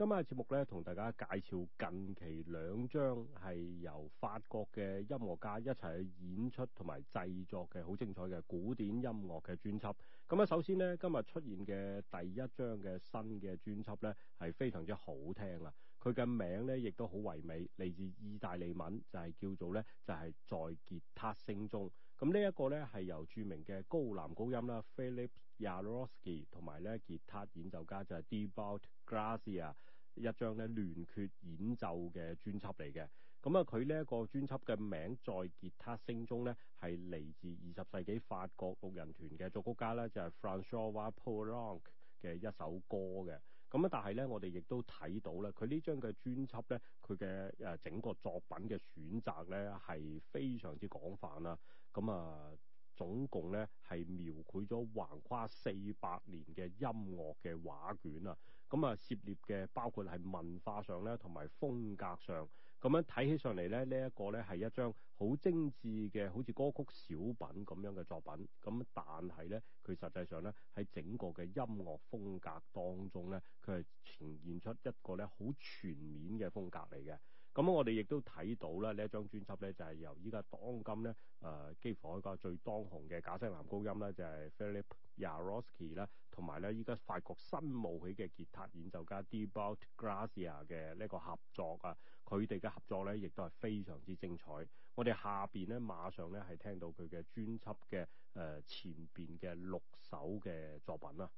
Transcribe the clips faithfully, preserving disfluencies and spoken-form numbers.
今日嘅節目咧，同大家介紹近期兩張係由法國嘅音樂家一齊去演出同埋製作嘅好精彩嘅古典音樂嘅專輯。咁啊，首先呢，今日出現嘅第一張嘅新嘅專輯咧，係非常之好聽啊！佢嘅名咧，亦都好唯美，嚟自意大利文，就係叫做咧，就係在吉他聲中。咁呢一個咧係由著名嘅高男高音啦 Philipp Jaworski 同埋咧吉他演奏家就係 Thibaut Gracia 一張咧聯決演奏嘅專輯嚟嘅。咁啊，佢呢一個專輯嘅名在吉他聲中咧係嚟自二十世紀法國六人團嘅作曲家咧就係 François Poulenc 嘅一首歌嘅。咁啊，但係咧，我哋亦都睇到咧，佢呢張嘅專輯咧，佢嘅誒整個作品嘅選擇咧係非常之廣泛啦。咁啊，總共咧係描繪咗橫跨四百年嘅音樂嘅畫卷啊。咁啊，涉獵嘅包括係文化上咧，同埋風格上。咁樣睇起上嚟咧，呢一個咧係一張好精緻嘅，好似歌曲小品咁樣嘅作品。咁但係咧，佢實際上咧喺整個嘅音樂風格當中咧，佢係呈現出一個咧好全面嘅風格嚟嘅。咁我哋亦都睇到啦，呢一張專輯咧就係由依家當今咧誒、呃、幾乎可以講最當紅嘅假聲男高音咧就係 Philipp Jaworski 啦，同埋咧依家法國新冒起嘅吉他演奏家 Thibaut Gracia 嘅呢個合作啊，佢哋嘅合作咧亦都係非常之精彩。我哋下邊咧馬上咧係聽到佢嘅專輯嘅誒前邊嘅六首嘅作品啦。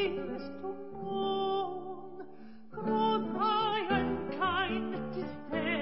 Kein Despair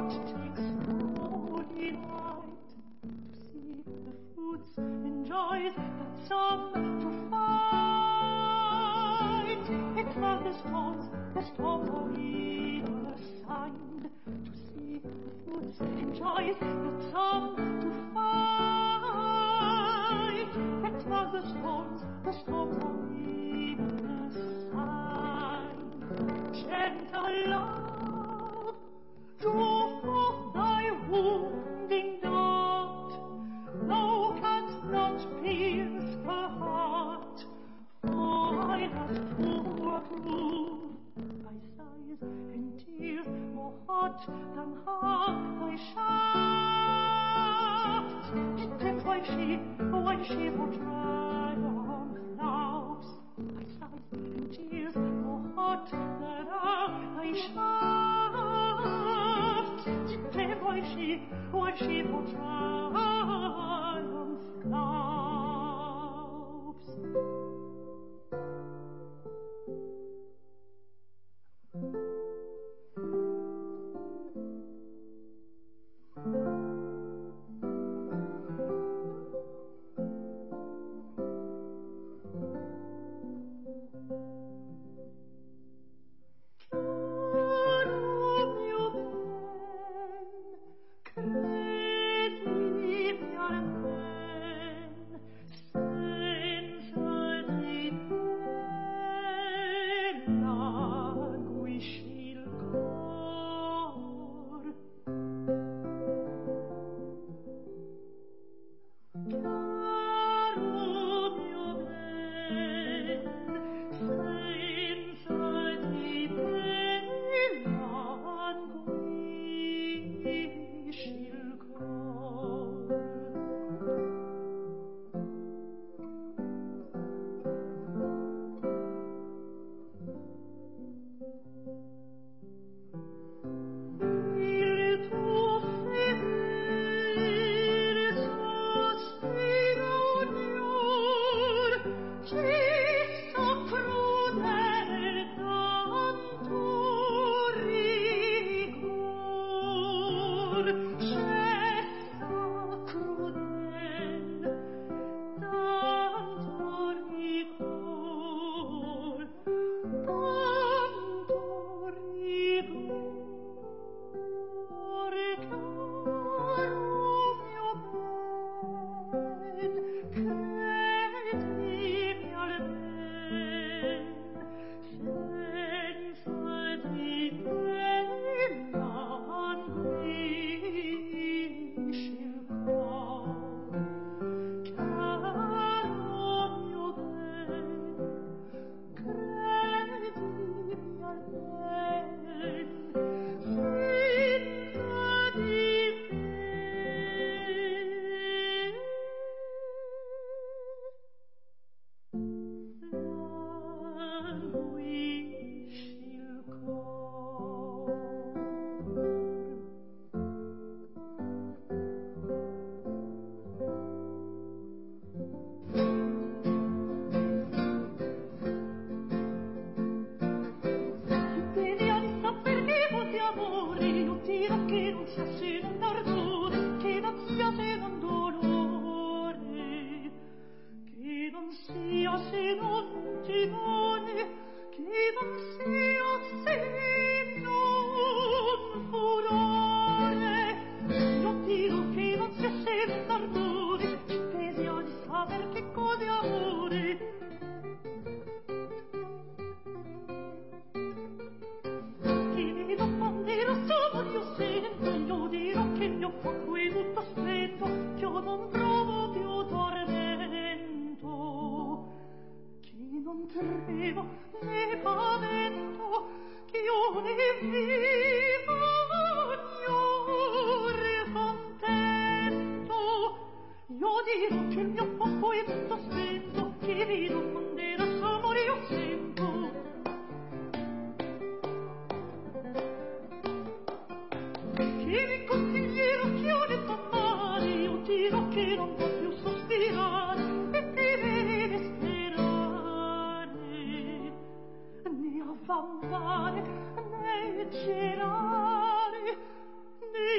Amare, né celare, né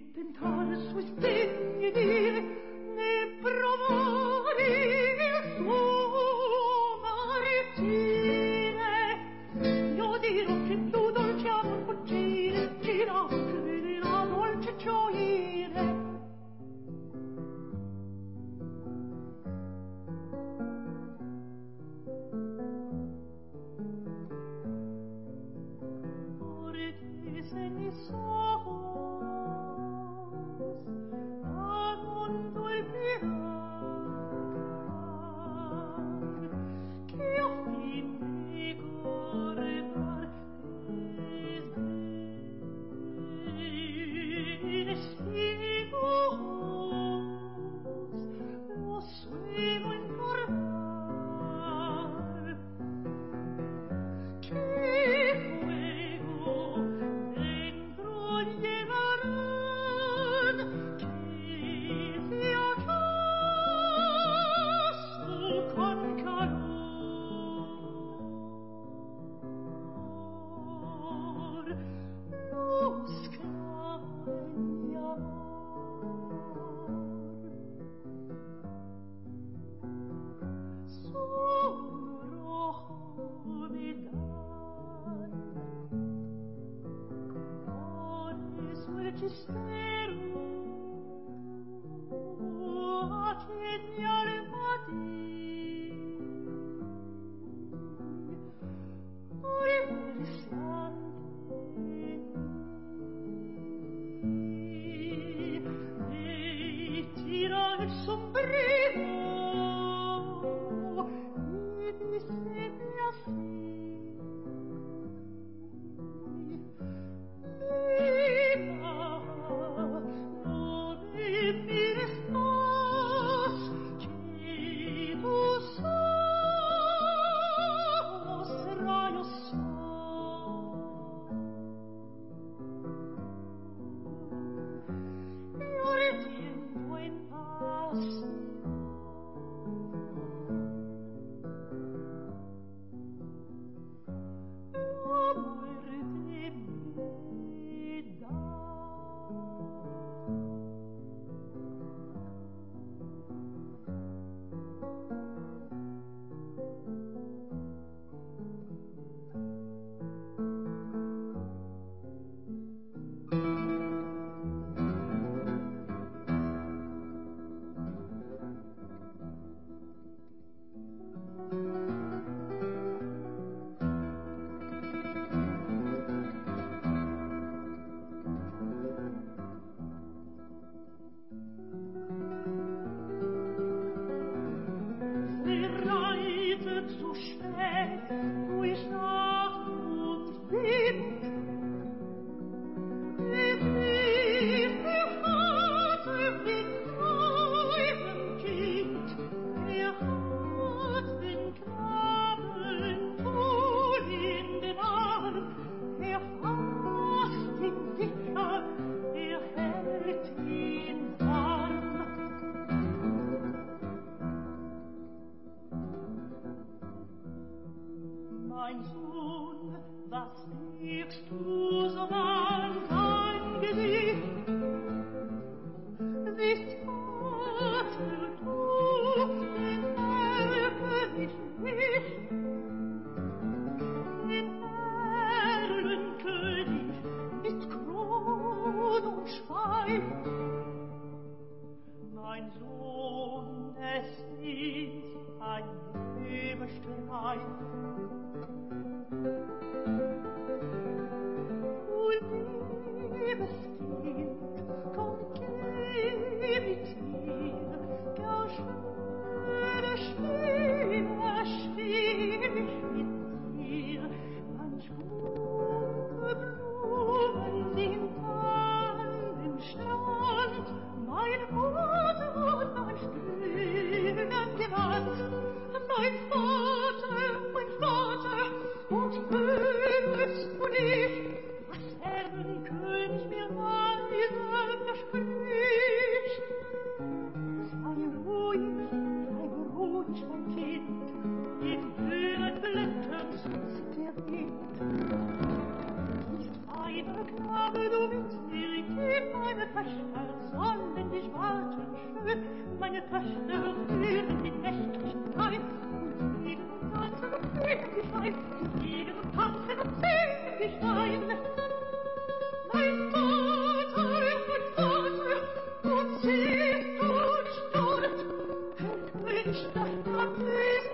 Knabe, du willst mir, gib meine Töchter sollen dich warten schön, meine Töchter führen die nächtlichen Wein, und fliegen und tanzen und singen dich ein, und fliegen und tanzen und singen dich ein. Mein Vater, mein Vater, und singt und stolz, wünscht, dass man ist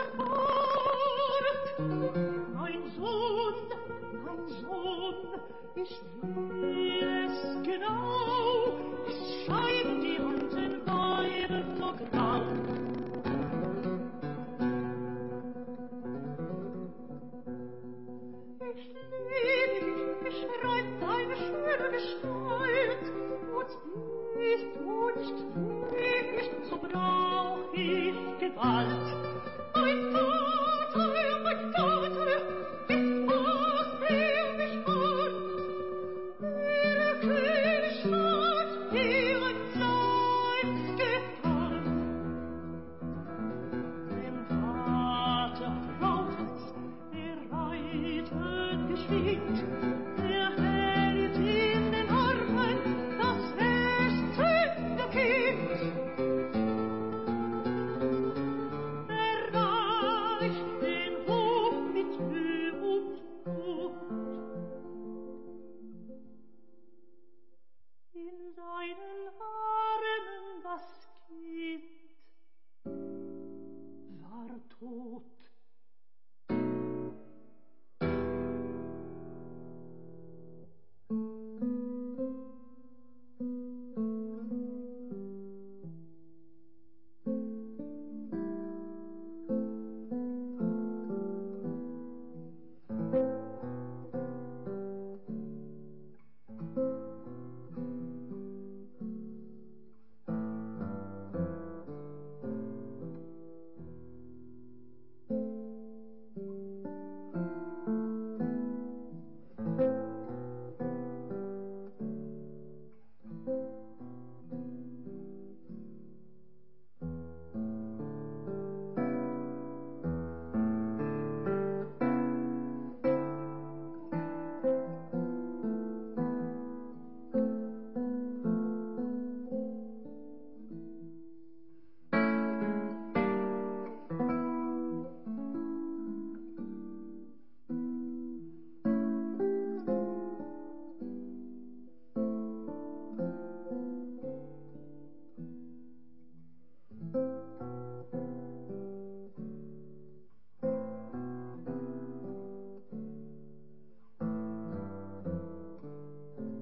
fort. Mein Sohn, mein Sohn, ich will es genau, es scheiden die alten Weiber so grau. Ich liebe dich, beschreibt deine schöne Gestalt, und bist du nicht fähig, so brauch ich Gewalt.